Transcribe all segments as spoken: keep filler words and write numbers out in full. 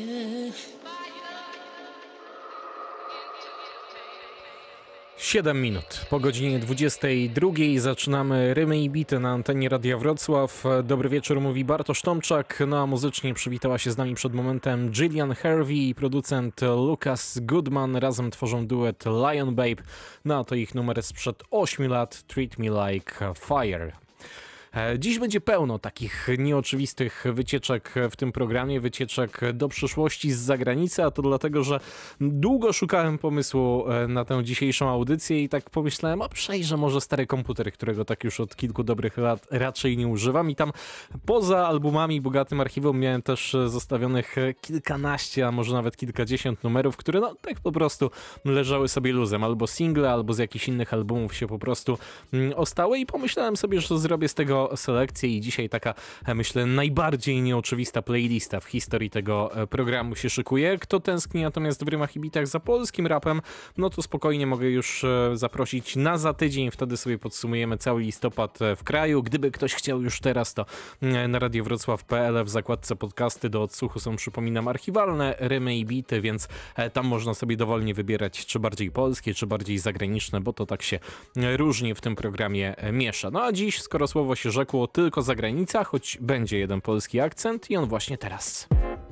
siedem minut po godzinie dwudziestej drugiej zaczynamy Rymy i Bity na antenie Radia Wrocław. Dobry wieczór, mówi Bartosz Tomczak. No a muzycznie przywitała się z nami przed momentem Gillian Harvey i producent Lucas Goodman. Razem tworzą duet Lion Babe. No a to ich numer sprzed ośmiu lat, Treat Me Like Fire. Dziś będzie pełno takich nieoczywistych wycieczek w tym programie, wycieczek do przyszłości z zagranicy, a to dlatego, że długo szukałem pomysłu na tę dzisiejszą audycję i tak pomyślałem, a przejrzę może stary komputer, którego tak już od kilku dobrych lat raczej nie używam i tam poza albumami, bogatym archiwum miałem też zostawionych kilkanaście, a może nawet kilkadziesiąt numerów, które no tak po prostu leżały sobie luzem, albo single, albo z jakichś innych albumów się po prostu ostały i pomyślałem sobie, że zrobię z tego selekcję i dzisiaj taka, myślę, najbardziej nieoczywista playlista w historii tego programu się szykuje. Kto tęskni natomiast w Rymach i Bitach za polskim rapem, no to spokojnie mogę już zaprosić na za tydzień, wtedy sobie podsumujemy cały listopad w kraju. Gdyby ktoś chciał już teraz, to na radiowrocław kropka p l w zakładce podcasty do odsłuchu są, przypominam, archiwalne Rymy i Bity, więc tam można sobie dowolnie wybierać, czy bardziej polskie, czy bardziej zagraniczne, bo to tak się różnie w tym programie miesza. No a dziś, skoro słowo się rzekło, tylko zagranica, choć będzie jeden polski akcent i on właśnie teraz.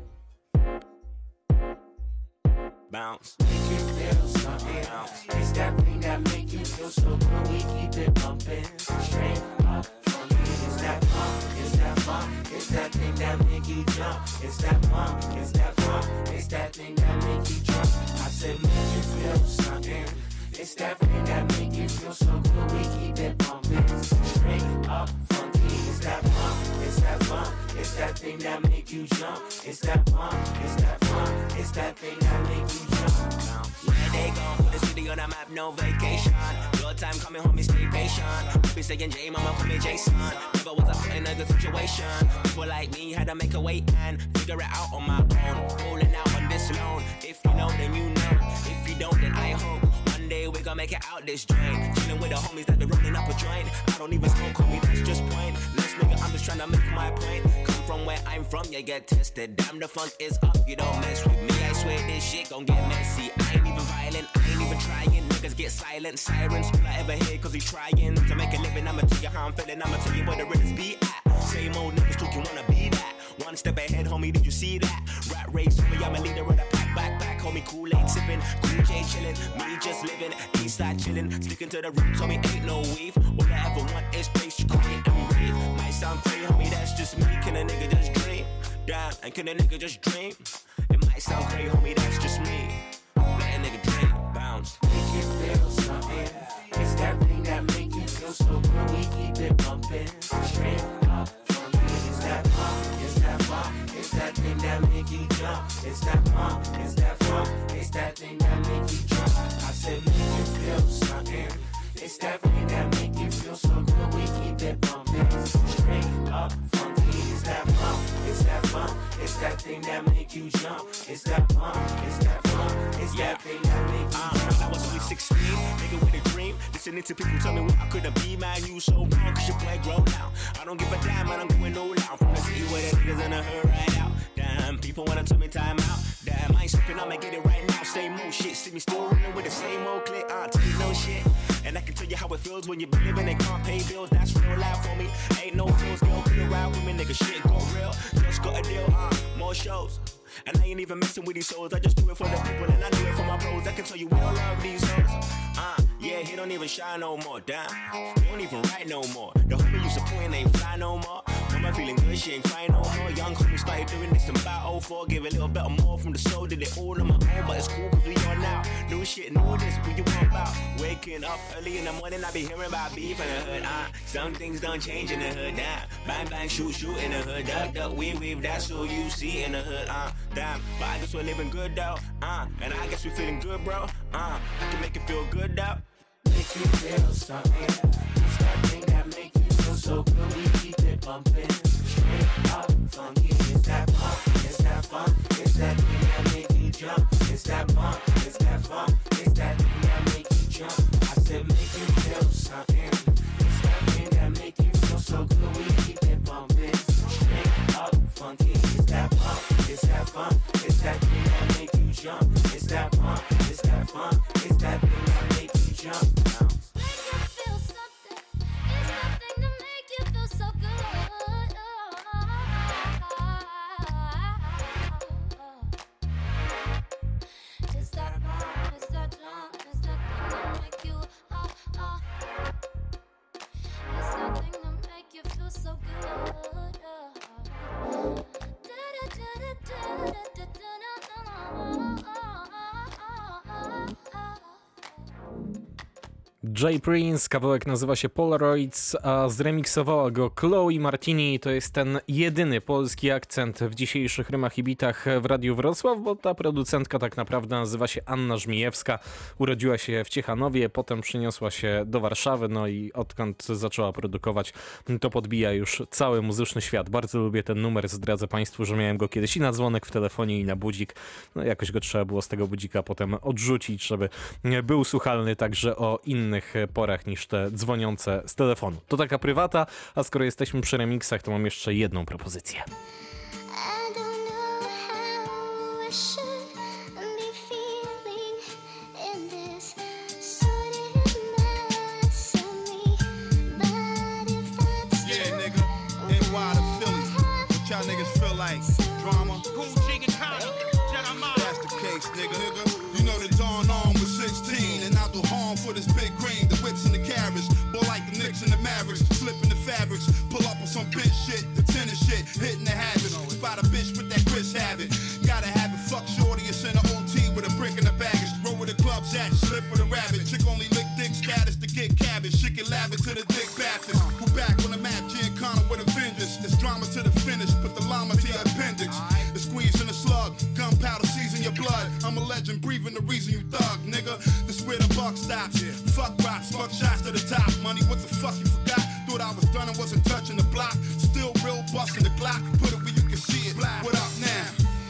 Bounce. Make you feel something. Bounce. It's that thing that make you feel so good. We keep it bumping straight up from me. It's that funk. It's that funk. It's that thing that make you jump. It's that funk. It's that funk. It's that thing that make you jump. I said make you feel something. It's that thing that make you feel so good. We keep it bumping straight up from me. It's that funk. It's that funk. It's that thing that make you jump. It's that funk. It's that funk. It's that thing that make you jump. Where they go? Put the city on the map, no vacation. Your time coming, homie, stay patient. Be saying J, mama, call me Jason. Never was I put in a good situation. People like me had to make a wait and figure it out on my own. Rolling out on this loan. If you know, then you know. If you don't, then I hope. One day we gon' make it out this joint. Chilling with the homies that be rolling up a joint. I don't even smoke, homie, that's just point. Let's nigga, I'm just trying to make my point. Come from where I'm from, you get tested. Damn, the funk is up, you don't mess with me. I swear this shit gon' get messy. I ain't even violent, I ain't even trying. Niggas get silent, sirens. All I ever hear cause he trying to make a living. I'ma tell you how I'm feeling, I'ma tell you where the realest be at. Same old niggas talk, you wanna be that. One step ahead, homie, did you see that? Rat race, homie, I'm a leader of the pack, back, back, homie, Kool-Aid sipping, Cool J chillin', me just living, east side chillin', sticking to the roots, homie, ain't no weave. All I ever want is space, you create and breathe. Might sound crazy, homie, that's just me. Can a nigga just dream? Damn, and can a nigga just dream? It might sound crazy, homie, that's just me. Let a nigga dream, bounce. Make you feel something. It's that thing that make you feel so good. We keep it bumping straight up from me. It's that funk, it's that funk. It's that thing that make you jump. It's that funk, it's that funk. It's that thing that make you jump. I said make you feel something. It's that thing that make you feel so good. We keep it bumping straight up from me. It's that funk, it's that funk. It's that thing that make you jump. It's that funk, it's that funk. It's yeah. that thing that make you uh, jump. When I was only sixteen, nigga with a dream. Listening to people tell me what I couldn't be, man. You so wrong, cause your boy grown now. I don't give a damn, man, I'm going all out. From the city where the niggas in the hood right out. Damn, people wanna tell me time out. Damn, I ain't slipping, I'ma get it right now. Same old shit, see me still running with the same old clip. I tell you no shit. And I can tell you how it feels when you be living and can't pay bills. That's real life for me. Ain't no feels, girl, be around with me, nigga. Shit go real. Just got a deal, uh, more shows. And I ain't even messing with these hoes. I just do it for the people and I do it for my bros. I can tell you we don't love these hoes. Uh, yeah, he don't even shine no more. Damn, he don't even write no more. The homie you supporting ain't fly no more. Mama feeling good, she ain't crying no more. Young homie started doing this in about oh four. Give a little bit more from the soul. Did it all on my own, but it's cool cause we on now. New shit, new this, what you want about? Waking up early in the morning, I be hearing about beef in the hood. Uh, some things don't change in the hood. Damn, bang bang, shoot shoot in the hood. Duck duck, weave weave, that's all you see in the hood. Uh, damn, but I guess we're living good though. Uh, and I guess we feeling good, bro. Uh, I can make it feel good though. Make you feel something. It's that thing that make you feel so good. We keep it bumping straight up funky. It's that funk, it's that funk. It's that thing that make you jump. It's that funk, it's that funk. It's that thing that make you jump. I said make you feel something. It's that thing that make you feel so good. We keep it bumping straight up funky. It's that funk, it's that funk. It's that Jay Prince, kawałek nazywa się Polaroids, a zremiksowała go Chloe Martini. To jest ten jedyny polski akcent w dzisiejszych rymach i bitach w Radiu Wrocław, bo ta producentka tak naprawdę nazywa się Anna Żmijewska. Urodziła się w Ciechanowie, potem przeniosła się do Warszawy, no i odkąd zaczęła produkować, to podbija już cały muzyczny świat. Bardzo lubię ten numer, zdradzę Państwu, że miałem go kiedyś i na dzwonek w telefonie, i na budzik. No jakoś go trzeba było z tego budzika potem odrzucić, żeby był słuchalny także o innych porach niż te dzwoniące z telefonu. To taka prywata, a skoro jesteśmy przy remixach, to mam jeszcze jedną propozycję. I don't know how I should be feeling in this sordid mess of me, but if that's Yeah, true, nigga, N Y to Philly. What y'all niggas feel like? Drama? Gucci and Connor, Jeremiah. That's the case, nigga. nigga. You know the Dawn on was sixteen, and I do harm for this big green, the whips and the carriage. Boy, like the Knicks and the Mavericks, slipping the fabrics, pull up on some bitch shit, the tennis shit, hitting the habits. Spot a bitch with that Chris habit. Gotta have it, fuck shorty, and send a O T with a brick in the baggage. Roll with the clubs at, slip with a rabbit. Chick only lick dick status to get cabbage. Shit get lavish to the dick Baptist. Who back on the map, Giancana with a vengeance. It's drama to the finish, put the llama to your appendix. The squeeze in the slug, gunpowder season your blood. I'm a legend, breathing the reason you thug, nigga. This where the buck stops. Fuck rocks, fuck shots to the top. Money, what the fuck you forgot? Thought I was done and wasn't touching the block. Still real busting the Glock. Put it where you can see it. What up now?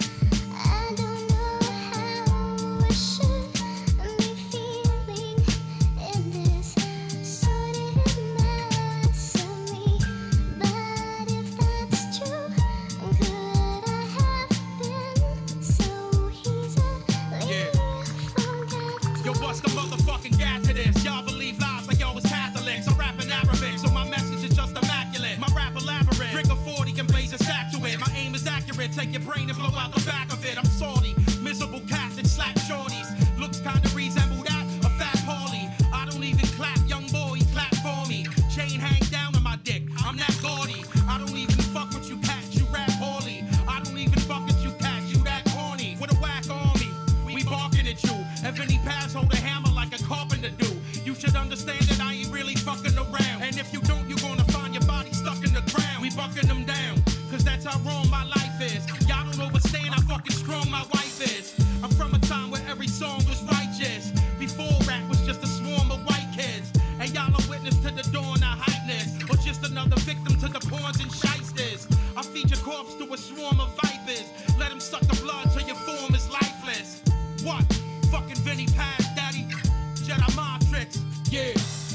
I don't know how I should be feeling in this sordid mess of me, but if that's true, could I have been so easily Yeah. forgotten? Yo, what's the motherfucking gas to this? Y'all believe lies like y'all was Catholics. I'm rapping Arabic, so my message is just immaculate. My rap elaborate. Drink a forty and blaze a sack to it. My aim is accurate. Take your brain and blow out the back of it. I'm salty, miserable cat that slap shorties. Looks kinda resemble that, a fat Paulie. I don't even clap, young boy, clap for me. Chain hang down on my dick, I'm that gaudy. I don't even fuck with you cats, you rap poorly. I don't even fuck with you cats, you that corny. With a whack on me, we barking at you. If any pass, hold a hammer like a carpenter do. You should understand that I ain't really fucking around. And if you don't, you're gonna find your body stuck in the ground. We bucking them down, cause that's how wrong my life is. Y'all don't understand how fucking strong my wife is. I'm from a time where every song was righteous. Before rap was just a swarm of white kids. And y'all are witness to the dawn of hypeness. Or just another victim to the pawns and shysters. I feed your corpse to a swarm of vipers. Let them suck the blood till your form is lifeless. What? Fucking Vinny Paz, daddy. Jedi mind tricks, yeah.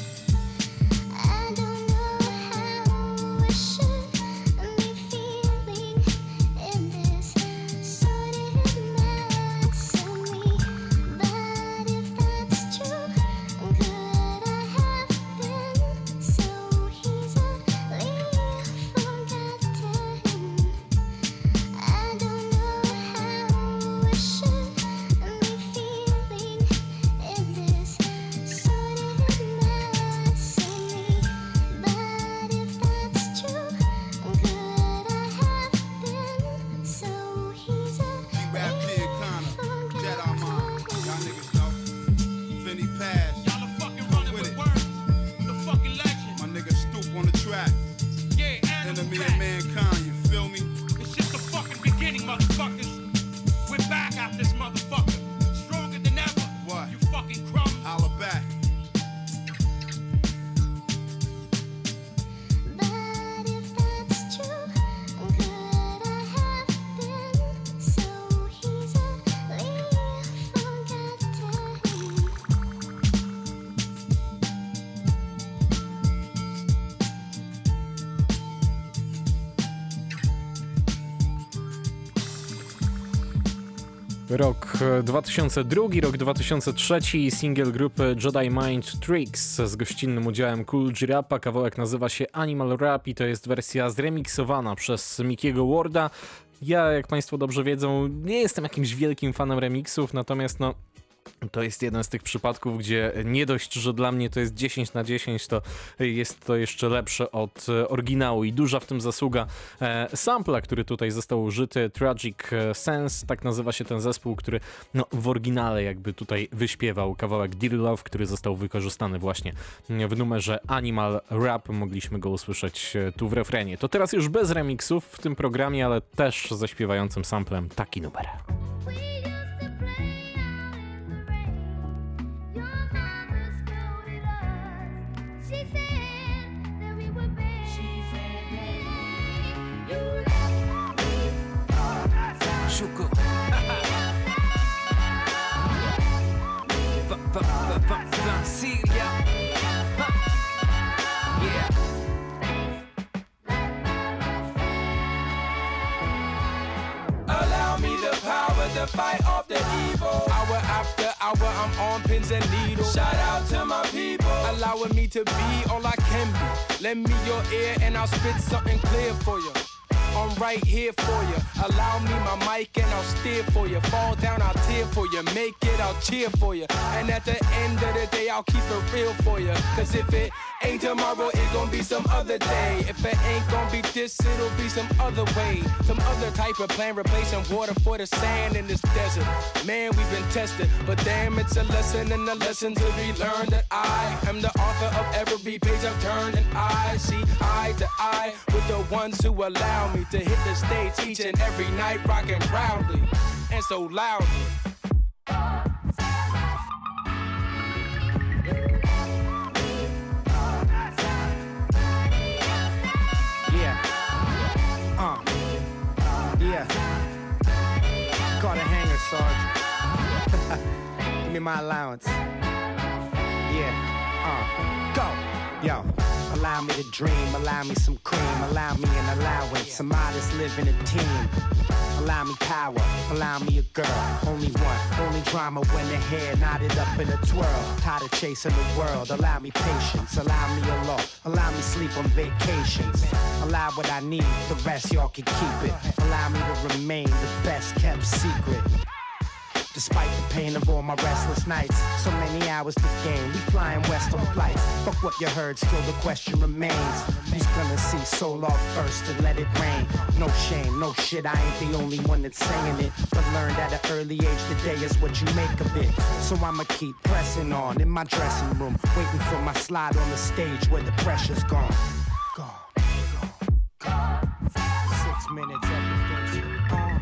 I don't know how I should be feeling in this sordid mess of me, but if that's true, could I have been so easily forgotten? I don't know how I should be feeling in this sordid mess of me, but if that's true, could I have been so easily G-Rap, Giancana, Jedi Mind. Y'all niggas know. Vinny Paz. Y'all are fucking running with with it. words. The fucking legend. My nigga Stoop on the track. Yeah, animal Enemy rap. of mankind, you feel me? It's just the fucking beginning, motherfuckers. We're back out this motherfucker. Stronger than ever. What? You fucking crumbs. Holla back. But if that's true, could I have been so easily forgotten? Rok dwa tysiące drugi, rok dwa tysiące trzeci, singiel grupy Jedi Mind Tricks z gościnnym udziałem Kool G Rapa. Kawałek nazywa się Animal Rap i to jest wersja zremiksowana przez Mickiego Warda. Ja, jak Państwo dobrze wiedzą, nie jestem jakimś wielkim fanem remixów, natomiast no To jest jeden z tych przypadków, gdzie nie dość, że dla mnie to jest dziesięć na dziesięć, to jest to jeszcze lepsze od e, oryginału i duża w tym zasługa e, sampla, który tutaj został użyty, Tragic Sense, tak nazywa się ten zespół, który no, w oryginale jakby tutaj wyśpiewał kawałek Dear Love, który został wykorzystany właśnie w numerze Animal Rap, mogliśmy go usłyszeć tu w refrenie. To teraz już bez remixów w tym programie, ale też ze śpiewającym samplem taki numer. We used to play out in the rain. Your mama scolded us. She said that we were bad. She said that you left me. Shuko. Va- va- va- va- Vansilia. Ha. Yeah. Allow me the power to fight off the evil. Hour after hour, I'm on pins and needles. Shout out to my people, allowing me to be all I can be. Lend me your ear and I'll spit something clear for you. I'm right here for you. Allow me my mic and I'll steer for you. Fall down, I'll tear for you. Make it, I'll cheer for you. And at the end of the day, I'll keep it real for you. Cause if it ain't tomorrow, it gon' be some other day. If it ain't gon' be this, it'll be some other way. Some other type of plan, replacing water for the sand in this desert. Man, we've been tested, but damn, it's a lesson and a lesson to be learned. That I am the author of every page I've turned, and I see eye to eye with the ones who allow me to hit the stage each and every night, rocking proudly and so loudly. Yeah. Uh. Yeah. Caught a hanger, Sarge. Give me my allowance. Yeah. Uh. Go. Yo. Allow me to dream, allow me some cream, allow me an allowance, some modest living a team. Allow me power, allow me a girl, only one, only drama when the hair knotted up in a twirl. Tired of chasing the world, allow me patience, allow me a law, allow me sleep on vacations. Allow what I need, the rest y'all can keep it. Allow me to remain the best kept secret. Despite the pain of all my restless nights, so many hours to gain, we flying west on flights. Fuck what you heard, still the question remains. Who's gonna see soul off first and let it rain? No shame, no shit, I ain't the only one that's saying it. But learned at an early age, today is what you make of it. So I'ma keep pressing on in my dressing room, waiting for my slide on the stage where the pressure's gone. Gone, gone, gone. Six minutes, everything's on.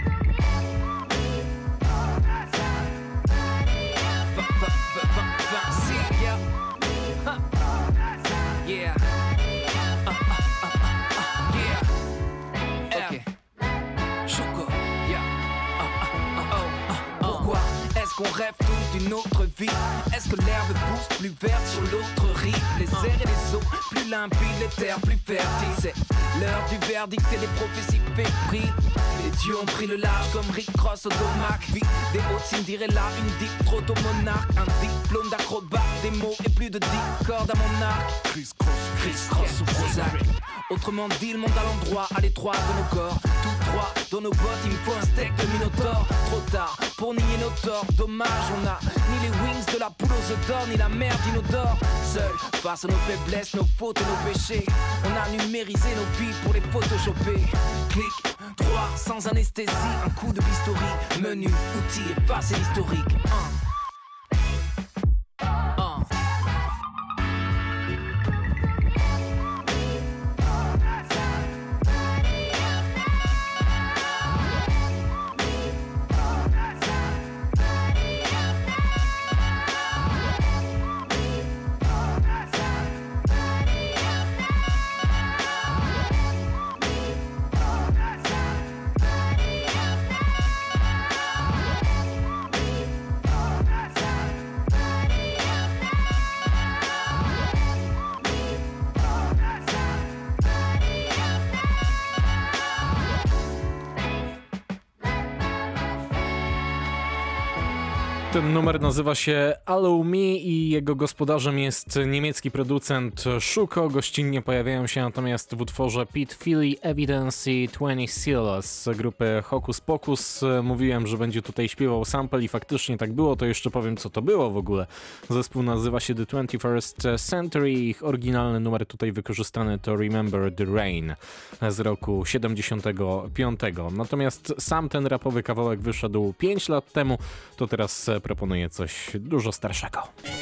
Vansilia. Ha. Yeah. Uh, uh, uh, uh, uh, yeah. Okay. Shuko. Yeah. Uh, uh, uh, uh, uh. Pourquoi est-ce qu'on rêve tous d'une autre vie? Est-ce que l'herbe pousse plus verte sur l'autre rive? Les airs et les eaux plus limpides, les terres plus fertiles. C'est l'heure du verdict et les prophéties fébriles. Les dieux ont pris le large comme Rick Ross au domac. Vie des hautes Cinderella, une deep proto-monarque. Un diplôme d'acrobate, des mots et plus de dix cordes à mon arc. Chris Cross, Chris Cross ou Prozac. Autrement dit, le monde à l'endroit, à l'étroit de nos corps. Tout droit, dans nos bottes, il me faut un steak de Minotaure. Trop tard, pour nier nos torts, dommage, on a ni les wings de la poule aux œufs d'or, ni la merde inodore. Seul, face à nos faiblesses, nos fautes et nos péchés, on a numérisé nos vies pour les photoshopper. Clic, droit, sans anesthésie, un coup de bistouri, menu, outil, effacer l'historique. Un. Ten numer nazywa się Allow Me i jego gospodarzem jest niemiecki producent Schuko. Gościnnie pojawiają się natomiast w utworze Pete Philly, Evidence i dwadzieścia Seals z grupy Hocus Pocus. Mówiłem, że będzie tutaj śpiewał sample i faktycznie tak było, to jeszcze powiem, co to było w ogóle. Zespół nazywa się The twenty-first Century, ich oryginalny numer tutaj wykorzystany to Remember the Rain z roku siedemdziesiątego piątego. Natomiast sam ten rapowy kawałek wyszedł pięć lat temu, to teraz proponuję coś dużo starszego.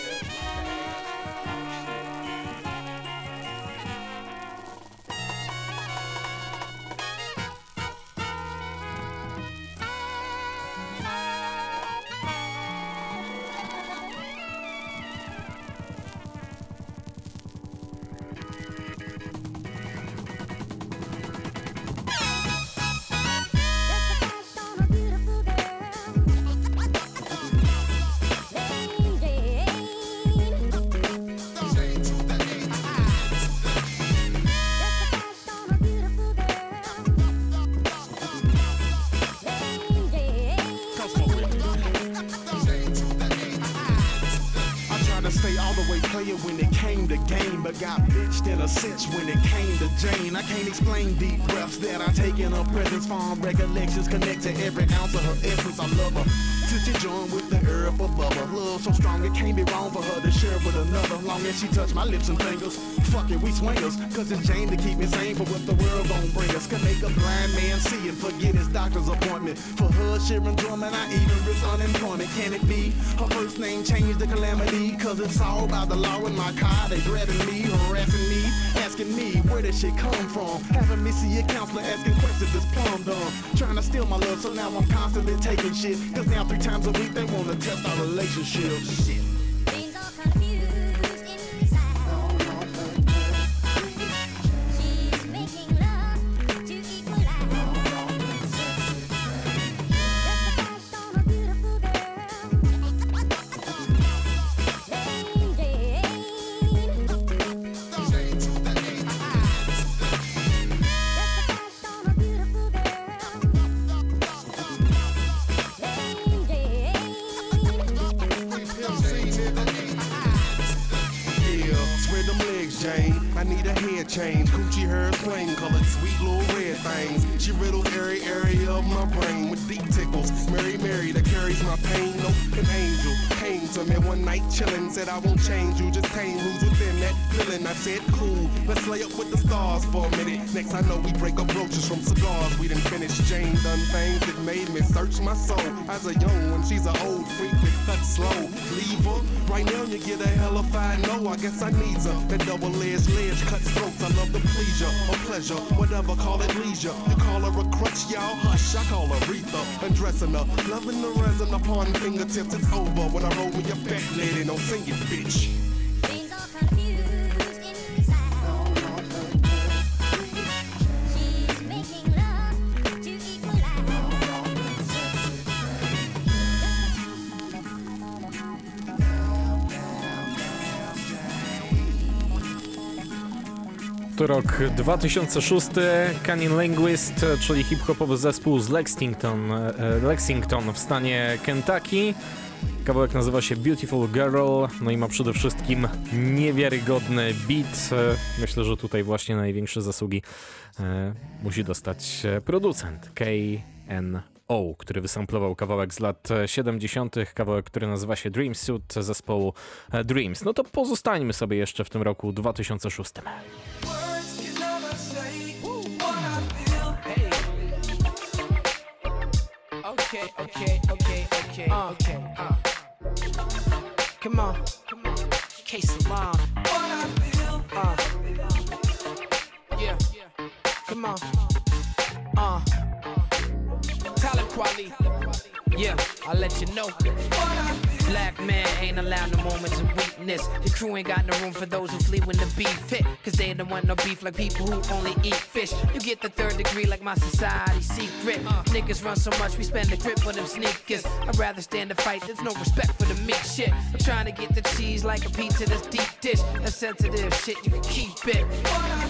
When it came to Jane, I can't explain deep breaths that I take in her presence. Farm recollections connect to every ounce of her essence. I love her till she joined with the herb above her. Love so strong it can't be wrong for her to share with another. Long as she touch my lips and fingers, fuck it, we swingers. Cause it's Jane to keep me sane for what the world gon' bring us. Can make a blind man see and forget his doctor's appointment. For her share enjoyment, I even risk unemployment. Can it be her first name changed to Calamity? Cause it's all about the law in my car. They grabbing me, harassing me, asking me where this shit come from. Having me see a counselor asking questions that's plumb dumb. Trying to steal my love, so now I'm constantly taking shit. Cause now three times a week they wanna test our relationship. Shit. Things all confused inside. She's making love to equalize. Just a flash on a beautiful girl. Lady. Jane, I need a hair change. Coochie hair plain colored, sweet little red things. She riddles every area of my brain with deep tickles. Mary Mary that carries my pain. No, an angel came to me one night chillin'. Said I won't change you, just tame who's within that feeling. I said cool, let's lay up with the stars for a minute. Next I know we break up roaches from cigars. We done finished. Jane done things that made me search my soul. As a young one, she's an old freak that cuts slow. Leave her, right now you get a hellified no. I guess I need her. That double-edged ledge cuts throats. I love the pleasure or pleasure, whatever, call it leisure. You call her a crutch, y'all, hush, I call her Aretha. Undressing her, loving the resin upon fingertips. It's over when I roll me a fat lady, don't sing it, bitch. Things all confused inside. She's making love to To rok dwa tysiące szósty, Canyon Linguist, czyli hip-hopowy zespół z Lexington, Lexington w stanie Kentucky. Kawałek nazywa się Beautiful Girl, no i ma przede wszystkim niewiarygodny beat. Myślę, że tutaj właśnie największe zasługi e, musi dostać producent K N O, który wysamplował kawałek z lat siedemdziesiątych, kawałek, który nazywa się Dream Suit zespołu Dreams. No to pozostańmy sobie jeszcze w tym roku dwa tysiące szóstym. Okay, okay, okay, okay, uh, okay, uh. Come on, come on, K-Salon. Uh, yeah, come on, uh, talent quality. Yeah, I'll let you know. Black man ain't allowed no moments of weakness. The crew ain't got no room for those who flee when the beef hit. Cause they don't want no beef like people who only eat fish. You get the third degree like my society secret. uh, Niggas run so much we spend the grip on them sneakers. I'd rather stand and fight, there's no respect for the meat shit. I'm trying to get the cheese like a pizza that's deep dish. That's sensitive shit, you can keep it.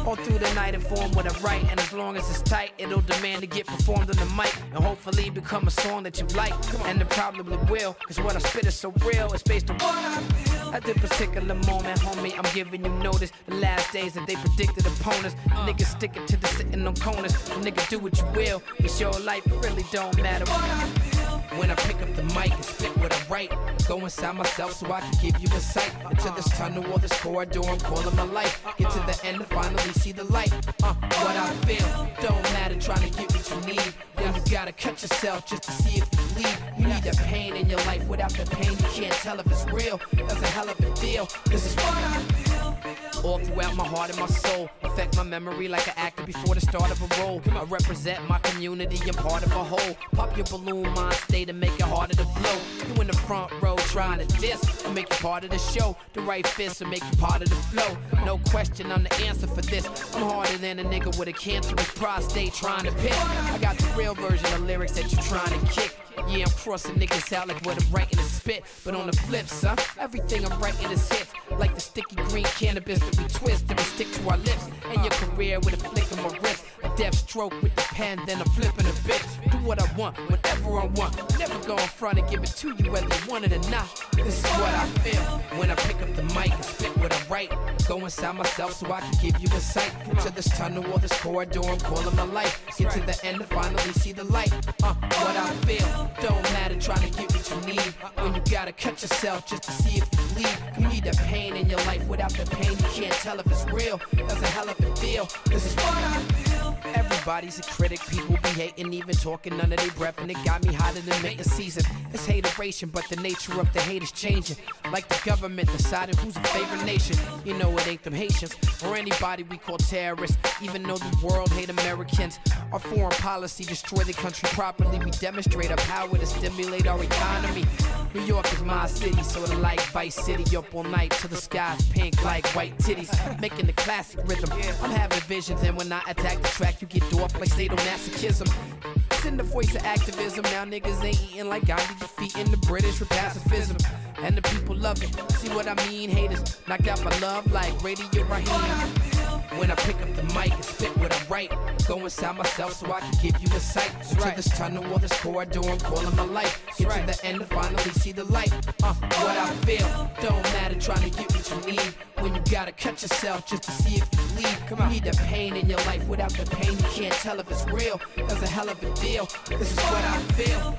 all through the night inform what I write. And as long as it's tight, it'll demand to get performed on the mic. And hopefully become a song that you like. And it probably will, cause what I spit is so real. It's based on what I feel. At this particular moment, homie, I'm giving you notice. The last days that they predicted opponents. Niggas sticking to the sitting on corners. Nigga, do what you will. It's your life, it really don't matter what I feel. When I pick up the mic and spit what I write, go inside myself so I can give you a sight. Into this tunnel or this corridor, I'm calling my life. Get to the end and finally see the light. Uh, what I feel, don't matter trying to get what you need. Then you gotta cut yourself just to see if you bleed. You need that pain in your life. Without the pain, you can't tell if it's real. That's a hell of a deal. This is what I feel. All throughout my heart and my soul, affect my memory like an actor before the start of a role. I represent my community, I'm part of a whole. Pop your balloon mind state and make it harder to blow. You in the front row trying to diss, I make you part of the show. The right fist will make you part of the flow. No question, I'm the answer for this. I'm harder than a nigga with a cancerous prostate trying to piss. I got the real version of lyrics that you trying to kick. Yeah, I'm crossing niggas out like what I'm writing is spit. But on the flip, son, everything I'm writing is hits. Like the sticky green cannabis that we twist and we stick to our lips. And your career with a flick of my wrist. A death stroke with the pen, then I'm flipping a bit. Do what I want, whenever I want. Never go in front and give it to you whether you want it or not. This is what I feel when I pick up the mic and spit what I write. Go inside myself so I can give you a sight. Into this tunnel or this corridor, I'm calling my life. Get to the end and finally see the light. Uh, what I feel, don't matter trying to get what you need. When you gotta cut yourself just to see if you bleed. You need that pain in your life. Without the pain, you can't tell if it's real. That's a hell of a deal. This is what I feel. Everybody's a critic, people be hating, even talking under their breath, and it got me hotter than making season. It's hateration, but the nature of the hate is changing. Like the government deciding who's a favorite nation. You know it ain't them Haitians, or anybody we call terrorists. Even though the world hate Americans, our foreign policy destroy the country properly. We demonstrate our power to stimulate our economy. New York is my city, sorta like Vice City. Up all night till the sky's pink like white titties. Making the classic rhythm, I'm having visions, and when I attack the track, you get dwarfed like sadomasochism. It's in the voice of activism. Now niggas ain't eating like Gandhi, defeating the British with pacifism. And the people love it. See what I mean? Haters knocked out my love like Radio Raheem. When I pick up the mic and spit what I write, go inside myself so I can give you a sight. Into this tunnel or this corridor, I'm calling my life. Get to the end and finally see the light. Uh, what I feel, don't matter trying to get what you need. When you gotta cut yourself just to see if you bleed. You need that pain in your life. Without the pain, you can't tell if it's real. That's a hell of a deal. This is what I feel.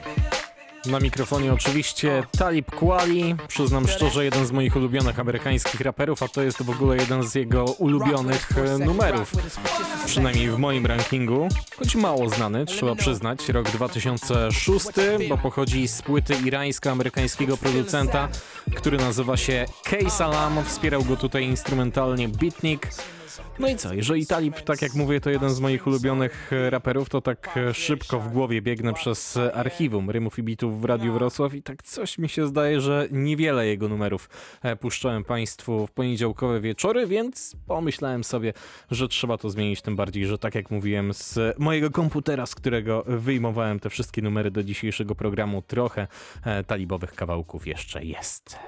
Na mikrofonie oczywiście Talib Kweli, przyznam szczerze, jeden z moich ulubionych amerykańskich raperów, a to jest w ogóle jeden z jego ulubionych numerów, przynajmniej w moim rankingu, choć mało znany, trzeba przyznać, rok dwa tysiące szósty, bo pochodzi z płyty irańsko-amerykańskiego producenta, który nazywa się K-Salam, wspierał go tutaj instrumentalnie Beatnik. No i co, jeżeli Talib, tak jak mówię, to jeden z moich ulubionych raperów, to tak szybko w głowie biegnę przez archiwum rymów i bitów w Radiu Wrocław i tak coś mi się zdaje, że niewiele jego numerów puszczałem Państwu w poniedziałkowe wieczory, więc pomyślałem sobie, że trzeba to zmienić, tym bardziej, że tak jak mówiłem, z mojego komputera, z którego wyjmowałem te wszystkie numery do dzisiejszego programu, trochę talibowych kawałków jeszcze jest.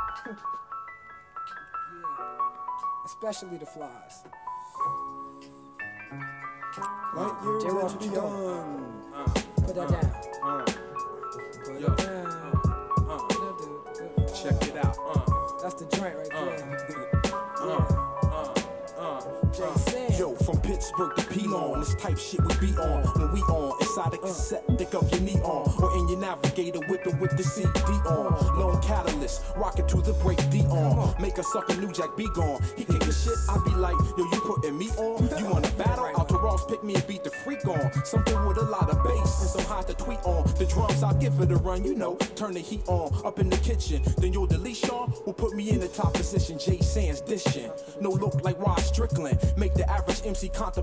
Especially the flies. Right? Jay, what you doing? Uh, Put that down. Uh, Put yo, it down. Uh, uh, check it out. Uh, That's the joint right uh, there. uh, Yeah. uh, uh, Jay uh. said. Yo, from Pittsburgh to P-Lawn, this type shit we be on. When we on, inside a cassette, thick of your knee on. Or in your navigator, whipping with the C D on. Lone catalyst, rockin' to the break D on. Make a sucker New Jack be gone. He kick his shit, I be like, yo, you putting me on? You wanna battle? Out to Ross, pick me and beat the freak on. Something with a lot of bass and some highs to tweet on. The drums, I'll give it a run, you know. Turn the heat on, up in the kitchen. Then you'll delete Sean, will put me in the top position. Jay Sands dishing. No look like Rod Strickland. Make the average M C contemplate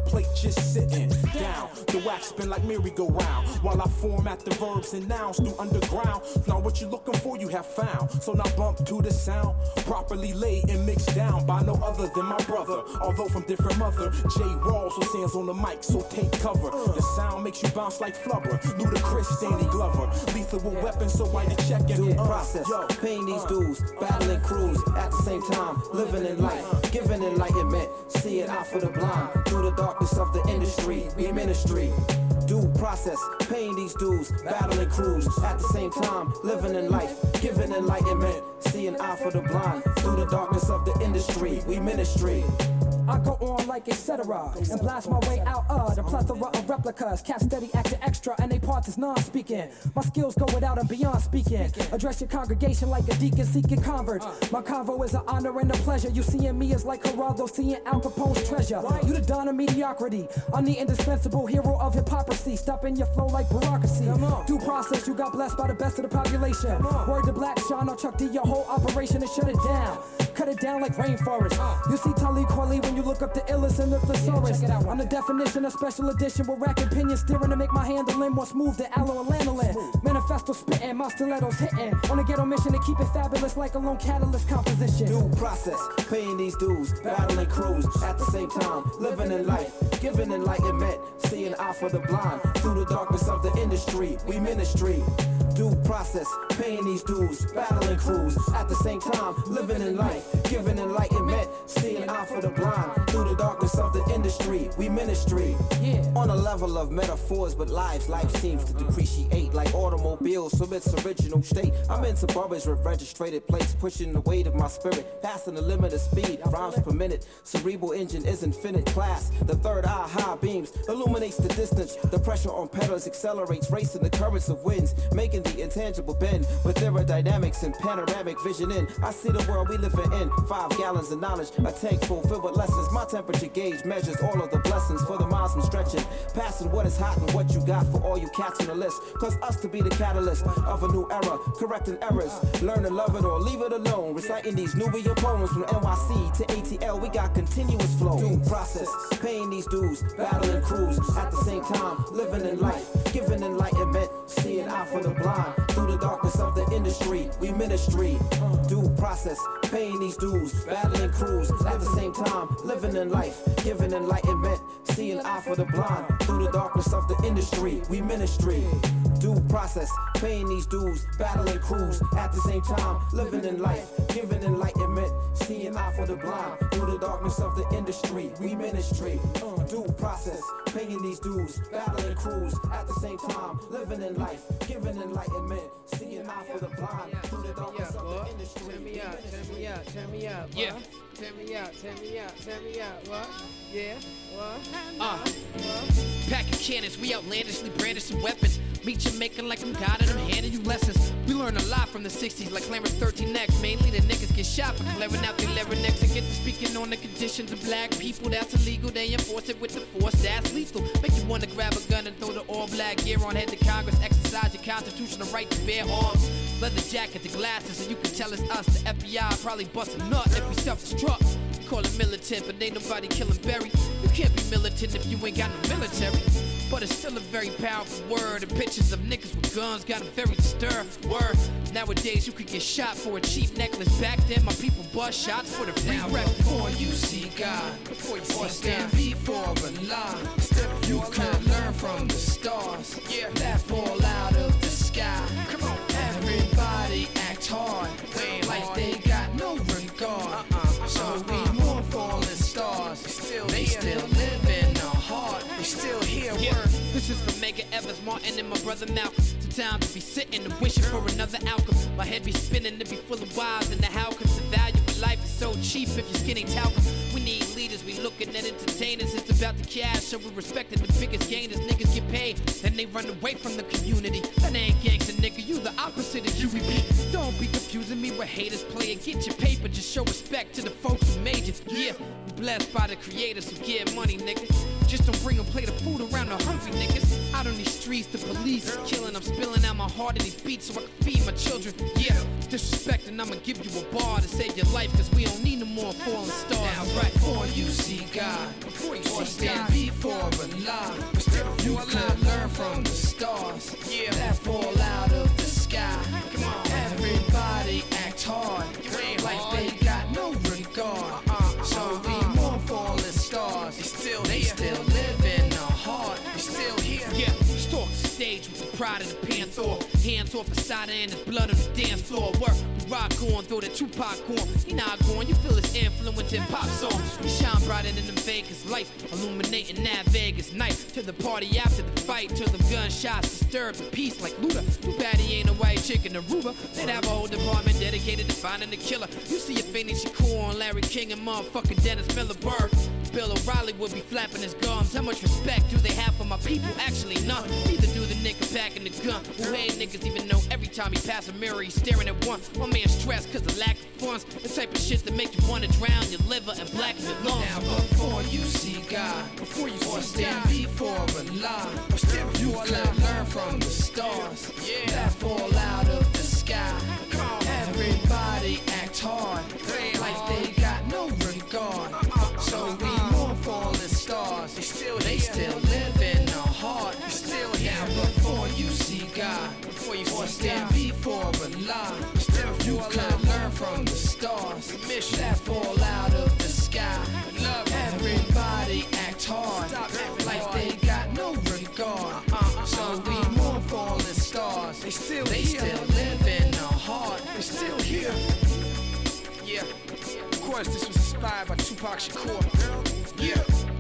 plate just sitting down. The wax spin like merry-go-round while I format the verbs and nouns through underground. Now what you looking for you have found. So now bump to the sound, properly laid and mixed down by no other than my brother. Although from different mother, Jay Rawls with hands on the mic, so take cover. The sound makes you bounce like flubber. Ludacris, Danny Glover, lethal with weapons, so why you checking? Due process, paying these dues, battling crews at the same time, living in life, giving enlightenment, seeing out for the blind through the darkness of the industry. We ministry. Due process, paying these dues, battling crews at the same time, living in life, giving enlightenment, seeing eye for the blind through the darkness of the industry. We ministry. I go on like et cetera and blast my way out of the plethora of replicas. Cats steady acting extra and they parts is non-speaking. My skills go without and beyond speaking. Address your congregation like a deacon seeking converts. My convo is an honor and a pleasure. You seeing me is like Geraldo seeing Al Capone's treasure. You the Don of mediocrity. I'm the indispensable hero of hypocrisy. Stopping your flow like bureaucracy. Due process, you got blessed by the best of the population. Word to Black Sean, I'll Chuck D your whole operation and shut it down. Cut it down like rainforest. You see Talib Kweli when you look up the illest and the thesaurus. I'm the definition of special edition with rack opinion steering to make my handling more smooth than aloe and lanolin. Manifesto spitting, my stilettos hitting. On a ghetto mission to keep it fabulous like a lone catalyst composition. Due process, paying these dues, battling crews at the same time, living in life, giving enlightenment, seeing eye for the blind through the darkness of the industry. We ministry. Due process, paying these dues, battling crews at the same time, living in life, giving enlightenment, seeing eye for the blind through the darkness of the industry. We ministry. Yeah. On a level of metaphors, but lives, life seems to depreciate like automobiles from its original state. I'm into barbers with registrated plates, pushing the weight of my spirit, passing the limit of speed, rhymes per minute. Cerebral engine is infinite class. The third eye high beams illuminates the distance. The pressure on pedals accelerates, racing the currents of winds, making the intangible bend with aerodynamics and panoramic vision in. I see the world we living in. Five gallons of knowledge, a tank full filled with lessons. My temperature gauge measures all of the blessings for the miles I'm stretching. Passing what is hot and what you got for all you cats on the list. Cause us to be the catalyst of a new era, correcting errors. Learn to love it or leave it alone. Reciting these Nubia poems from N Y C to A T L, we got continuous flow. Due process, paying these dues, battling crews at the same time, living in life, giving enlightenment, seeing eye for the blind through the darkness of the industry. We ministry. Due process, paying these dues, battling crews at the same time, living in life, giving enlightenment, seeing eye for the blind through the darkness of the industry. We ministry. Due process, paying these dues, battling crews at the same time, living in life, giving enlightenment, seeing eye for the blind through the darkness of the industry. We ministry. Due process, paying these dues, battling crews at the same time, living in life, giving enlightenment, seeing eye for the blind through the darkness of the industry. Turn me out, turn me out, turn me out. Yeah. Turn me out, turn me out, turn me out. What? Yeah. What? Uh. What? Pack of cannons, we outlandishly brandishing weapons. Meet you making like I'm God and I'm handing you lessons. We learn a lot from the sixties like Clarence thirteen X. Mainly the niggas get shot for clearing out their larynx and get to speaking on the conditions of black people. That's illegal, they enforce it with the force that's lethal. Make you wanna grab a gun and throw the all black gear on, head to Congress, exercise your constitutional right to bear arms. Leather jacket, the glasses, so you can tell it's us. The F B I probably bust a nut if we self-destruct. Call it militant, but ain't nobody killing Barry. You can't be militant if you ain't got no military. But it's still a very powerful word. And pictures of niggas with guns got a very disturbed word. Nowadays you could get shot for a cheap necklace. Back then my people bust shots for the free rep. Before you see God, before you or stand before Allah, you could learn from the stars that fall out of the sky. Come on, everybody act hard, like they got no regard. So we mourn falling stars. They still live in our heart. They still hear Yeah. word. This is from Mega Evans, Martin, and my brother Malcolm. Sometimes I be sitting and wishing for another outcome. My head be spinning to be full of whys and the how comes the value of life is so cheap if you're skinny talcum. We need leaders, we looking at entertainers. It's about the cash, so we respecting the biggest gainers. Niggas get paid, then they run away from the community. That ain't gangsta, nigga. You the opposite of you repeat. Don't be confusing me with haters playing. Get your paper, just show respect to the folks who made you. Yeah, you blessed by the creators who get money, nigga. Just don't bring a plate of food around the hungry niggas. Out on these streets, the police is killing. I'm spilling out my heart in these beats so I can feed my children. Yeah, disrespecting, I'ma give you a bar to save your life, cause we don't need no more falling stars. Now, right. Before you see God, before you or see stand God, before Allah, you could learn from the stars, yeah, that fall out of the sky. Come on, everybody act hard, like hard. They got no regard. Uh-uh, so we uh-uh. more falling stars. They still, they here. Still live in our heart. They still here. Yeah, stalk the stage with the pride of the Panther. Hands off Asada and his blood on the dance floor. Work, we rock on, throw the Tupac on. He not going, you feel his influence in pop songs. He shine brighter than them Vegas lights, illuminating that Vegas night. To the party after the fight, till the gunshots disturb the peace like Luda. Too bad he ain't a white chick in Aruba. They'd have a whole department dedicated to finding the killer. You see a Phoenix Shakur on Larry King and motherfucking Dennis Miller Bird. Bill O'Reilly would be flapping his gums. How much respect do they have for my people? Actually, none. Neither do the nigga back in the gun. Who hate niggas even know every time he pass a mirror he's staring at one. My man stressed cause of lack of funds. The type of shit that make you wanna drown your liver and blacken your lungs. Now before you see God, before you or stand God. Before Allah, or stand before you could learn from the stars, yeah, that fall out of the sky. Come on, everybody act hard, like they got no regard. Uh-uh, so uh-uh. we more falling stars. They still, they still live in our heart. They still here. Now before you see God, before you or stand before Allah, you could learn from the stars. Mission that fall out of the sky. Love everybody act hard, like they got no regard. Uh-uh, so we more falling stars. They still, they here. Still live in our heart. They still here. Yeah. Of course, this was inspired by Tupac Shakur. Yeah.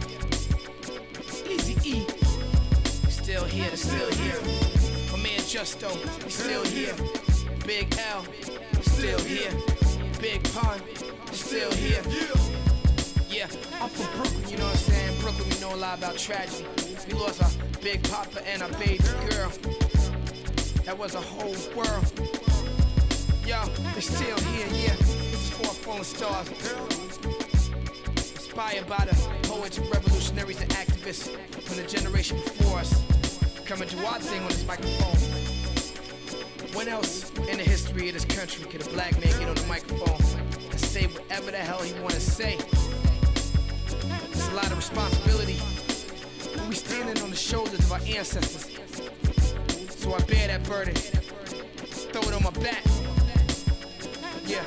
Easy E. Still here, they're still here. My man Justo, he's still here. Big L, still here. Big Pun, still here. Yeah, I'm from Brooklyn, you know what I'm saying? Brooklyn, we know a lot about tragedy. We lost our big papa and our baby girl. That was a whole world. Yo, they're still here, yeah. This is for our fallen stars. Inspired by the poets, revolutionaries, and activists from the generation before us. Come and do our thing on this microphone. When else in the history of this country could a black man get on the microphone and say whatever the hell he wanna say? It's a lot of responsibility. We standing on the shoulders of our ancestors. So I bear that burden. Throw it on my back. Yeah.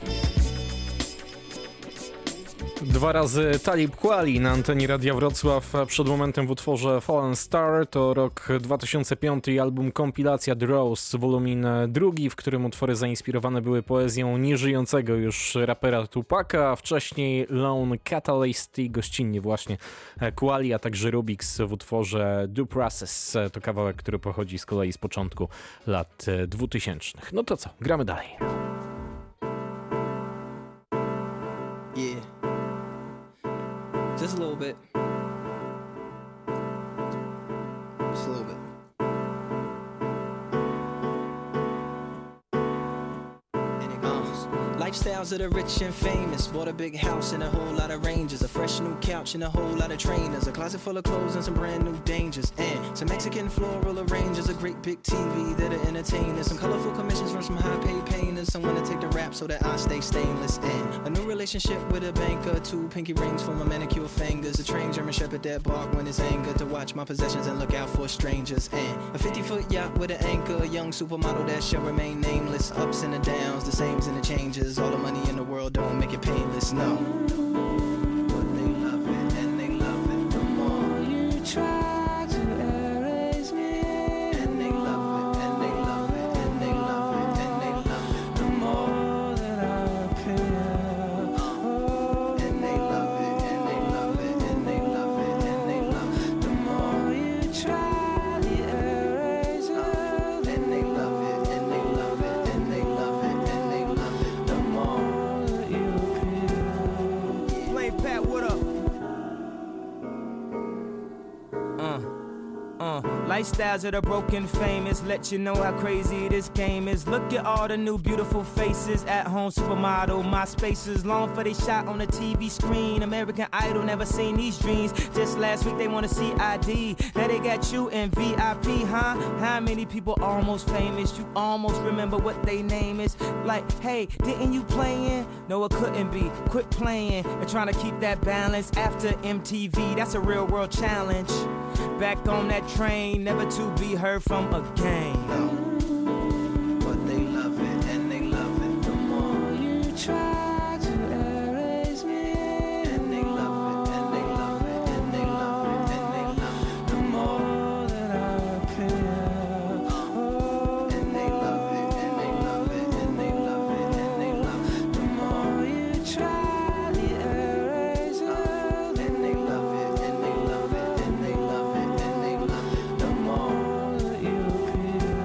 Dwa razy Talib Kweli na antenie Radia Wrocław. Przed momentem w utworze Fallen Star. To rok dwa tysiące piąty i album kompilacja The Rose, wolumin drugi, w którym utwory zainspirowane były poezją nieżyjącego już rapera Tupaca, a wcześniej Lone Catalyst i gościnnie właśnie Kweli, a także Rubix w utworze Due Process. To kawałek, który pochodzi z kolei z początku lat dwutysięcznych. No to co, gramy dalej. Yeah. Just a little bit. Just a little bit. And it goes. Lifestyles of the rich and famous. Bought a big house and a whole lot of ranges. A fresh new couch and a whole lot of trainers. A closet full of clothes and some brand new dangers. And some Mexican floral arrangers. A great big T V that'll entertain us. Some colorful commissions from some high paid painters. Someone to take the rap so that I stay stainless. And a new relationship with a banker. Two pinky rings for my manicure fingers. A trained German shepherd that bark when it's anger. To watch my possessions and look out for strangers. And a fifty foot yacht with an anchor. A young supermodel that shall remain nameless. Ups and the downs, the sames and the changes. All the money in the world don't make it painless, no. But they love it and they love it the more you try to erase me. And they love it and they love it and they love it and they love it the more that I appear. Oh, and they love it and they love it and they love it and they love it the more you try to erase it. And they love it and they love it and they love it and they love it the more that you appear. Lifestyles of the broken famous, let you know how crazy this game is. Look at all the new beautiful faces, at home supermodel, my spaces long for they shot on the T V screen. American Idol, never seen these dreams. Just last week they wanna see I D, now they got you in V I P, huh? How many people almost famous? You almost remember what they name is. Like, hey, didn't you playing? No, it couldn't be. Quit playing and trying to keep that balance after M T V. That's a real world challenge. Back on that train, never to be heard from again. But they love it and they love it the more you try to erase me. And they love it and they love it and they love it and they love it the more that I appear. Oh, and they love it and they love it and they love it and they love it the more you try to erase me. And they love it and they love it and they love it and they love it the more that you appear.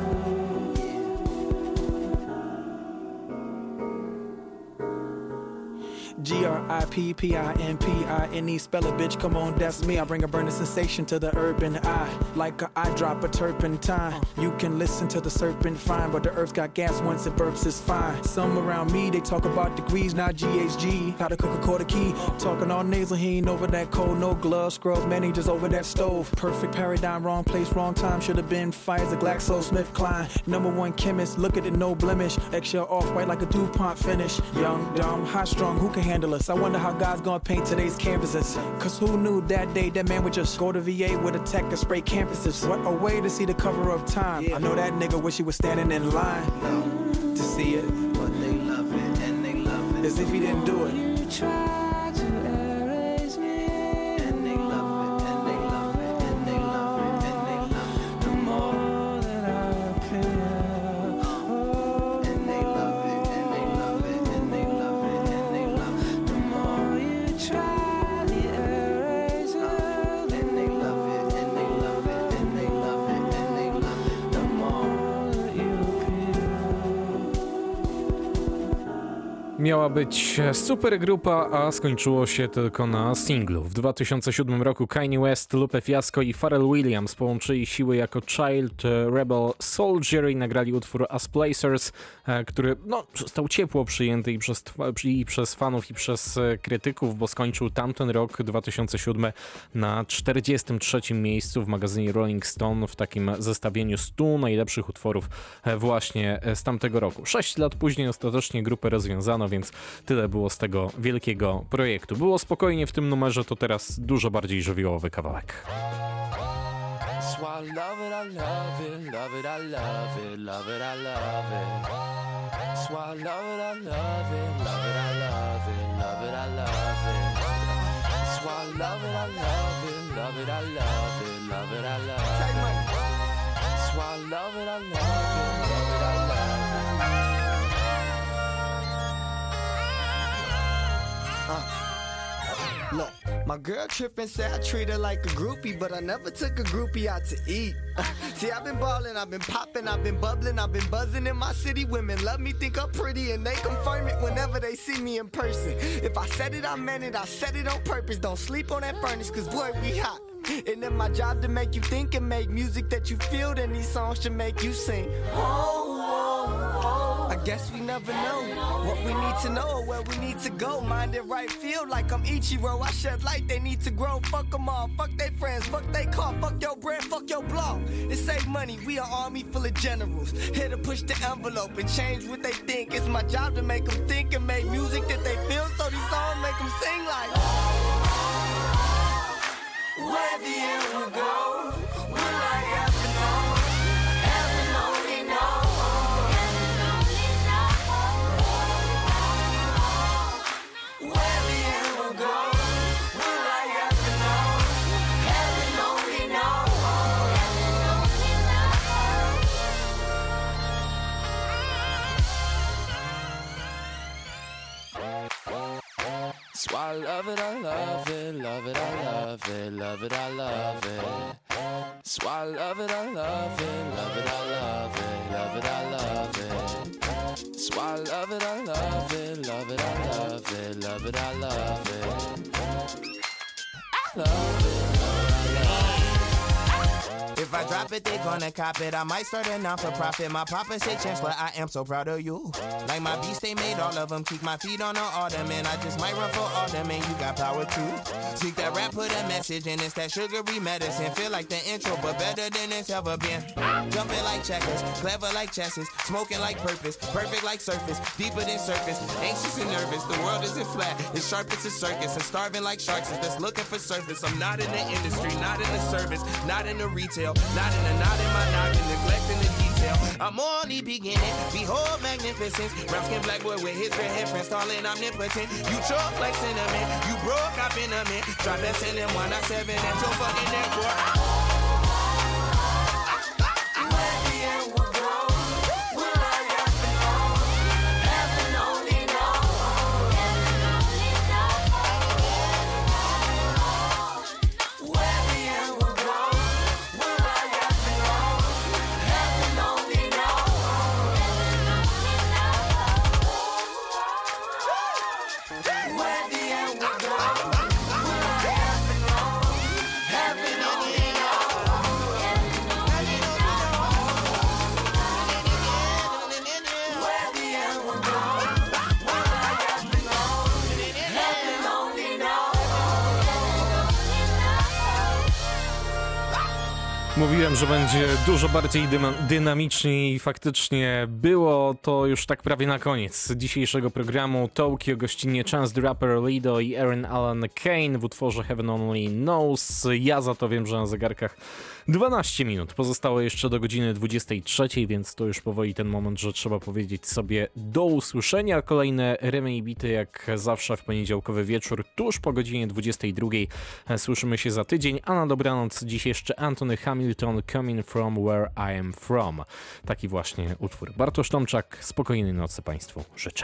G R I P P I N P I N E, spell it, bitch, come on, that's me. I bring a burning sensation to the urban eye, like a eye drop of turpentine. You can listen to the serpent fine, but the earth got gas once it burps, it's fine. Some around me, they talk about degrees, not G H G. How to cook a quarter key, talking all nasal, he ain't over that cold, no gloves, scrubs, man, he just over that stove. Perfect paradigm, wrong place, wrong time, should have been Pfizer, GlaxoSmithKline. Number one chemist, look at it, no blemish. Eggshell off white like a DuPont finish. Young, dumb, high strung, who can handle us? I wonder how God's gonna paint today's canvases. Cause who knew that day that man would just go to V A with a tech and spray campuses? What a way to see the cover of Time. I know that nigga wish he was standing in line to see it. But they love it and they love it as if he didn't do it. you try to erase me. And they love it and they love it and they love it and they love it the more that I appear. Oh, and they love it and they love it and they love it and they love it the more you try to erase me. And they love it and they love it and they love it and they love it the more that you appear. Miała być super grupa, a skończyło się tylko na singlu. W dwa tysiące siódmym roku Kanye West, Lupe Fiasco i Pharrell Williams połączyli siły jako Child Rebel Soldier i nagrali utwór As Placers, który no, został ciepło przyjęty i przez, i przez fanów, i przez krytyków, bo skończył tamten rok, dwa tysiące siódmy, na czterdziestym trzecim miejscu w magazynie Rolling Stone w takim zestawieniu stu najlepszych utworów właśnie z tamtego roku. Sześć lat później ostatecznie grupę rozwiązano, więc tyle było z tego wielkiego projektu. Było spokojnie w tym numerze, to teraz dużo bardziej żywiołowy kawałek. So I love it, I love it, love it, I love it, love it, I love it. So I love it, I love it, love it, I love it, love it, I love it. So I love it, I love it, love it, I love it, love it, I love it. So I love it, I love it, love it, I love it. Uh, look, my girl trippin' say I treat her like a groupie, but I never took a groupie out to eat. Uh, see, I've been ballin', I've been poppin', I've been bubblin', I've been buzzin' in my city. Women love me, think I'm pretty, and they confirm it whenever they see me in person. If I said it, I meant it, I said it on purpose. Don't sleep on that furnace, cause boy, we hot. And then my job to make you think and make music that you feel, then these songs should make you sing. Oh, oh, oh. I guess we never know what we need to know or where we need to go. Mind it right, feel like I'm Ichiro. I shed light, they need to grow. Fuck them all, fuck they friends, fuck they car, fuck your brand, fuck your blog. It save money, we an army full of generals. Here to push the envelope and change what they think. It's my job to make them think and make music that they feel, so these songs make them sing like where the air will go, will I ever know? Heaven only knows. Heaven only knows. Where the air will go, will I ever know? Heaven only knows. So I love it, I love it, love it, I love it, love it, I love it. So I love it, I love it, love it, I love it, love it, I love it. So I love it, I love it, love it, I love it, love it, I love it. I love it, love it, I love it. If I drop it, they gonna cop it. I might start a non-for-profit. My papa say chancellor, I am so proud of you. Like my beast, they made all of them. Keep my feet on the ottoman. I just might run for alderman. You got power too. Seek that rap, put a message in. It's that sugary medicine. Feel like the intro, but better than it's ever been. Jumping like checkers, clever like chesses, smoking like purpose, perfect like surface, deeper than surface. Anxious and nervous. The world isn't flat. It's sharp as a circus. And starving like sharks is just looking for surface. I'm not in the industry, not in the service, not in the retail, not in the not in my noggin, neglecting the detail. I'm only beginning. Behold magnificence. Brown skin black boy with his red hair friends, calling omnipotent. You choke like cinnamon. You broke up in a mint. Drop that in them one nine seven at your fucking neck, boy. Mówiłem, że będzie dużo bardziej dynamicznie i faktycznie było to już tak prawie na koniec dzisiejszego programu. Tokio, gościnnie Chance the Rapper, Lido i Aaron Allen Kane w utworze Heaven Only Knows. Ja za to wiem, że na zegarkach dwanaście minut. Pozostało jeszcze do godziny dwudziestej trzeciej, więc to już powoli ten moment, że trzeba powiedzieć sobie do usłyszenia. Kolejne rymy i bity jak zawsze w poniedziałkowy wieczór, tuż po godzinie dwudziestej drugiej. Słyszymy się za tydzień, a na dobranoc dziś jeszcze Anthony Hamilton, Coming From Where I Am From. Taki właśnie utwór. Bartosz Tomczak, spokojnej nocy Państwu życzę.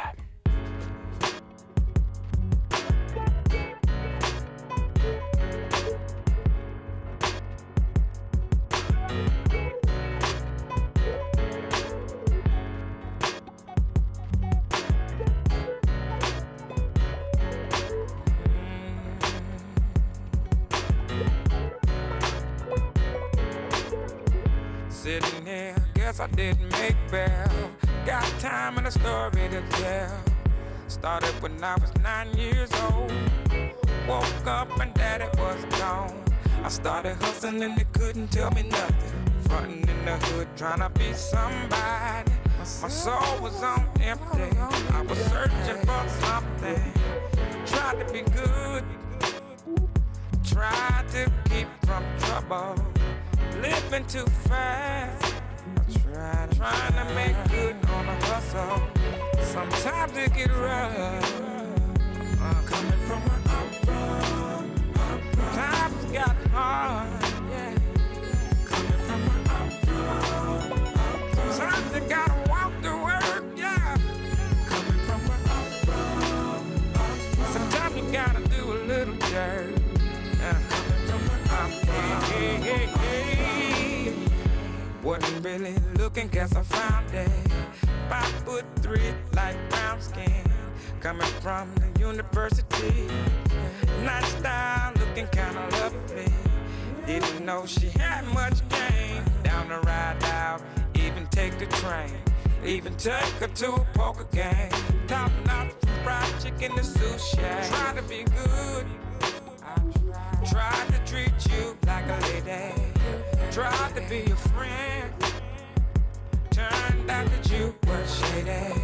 Sitting here, guess I didn't make bail. Got time and a story to tell. Started when I was nine years old. Woke up and daddy was gone. I started hustling and they couldn't tell me nothing. Frontin' in the hood, trying to be somebody. My soul was on empty. I was searching for something. Tried to be good. Tried to keep from trouble. Living too fast. I try, trying to make good on a hustle. Sometimes it get rough. Uh, coming from where I'm from, I'm from. Times got hard. Yeah. Coming from where I'm from, I'm from. Sometimes you gotta walk to work. Yeah. Coming from where I'm from, I'm from. Sometimes you gotta do a little dirt. Yeah. Coming from where I'm from. Hey, hey, hey. Wasn't really looking, guess I found it. Five foot three, light brown skin. Coming from the university. Nice style, looking kinda lovely. Didn't know she had much game. Down the ride out, even take the train. Even take her to a poker game. Top notch from fried chicken to sushi. Try to be good. Tried to treat you like a lady. Tried to be your friend. Turned out that you were shady.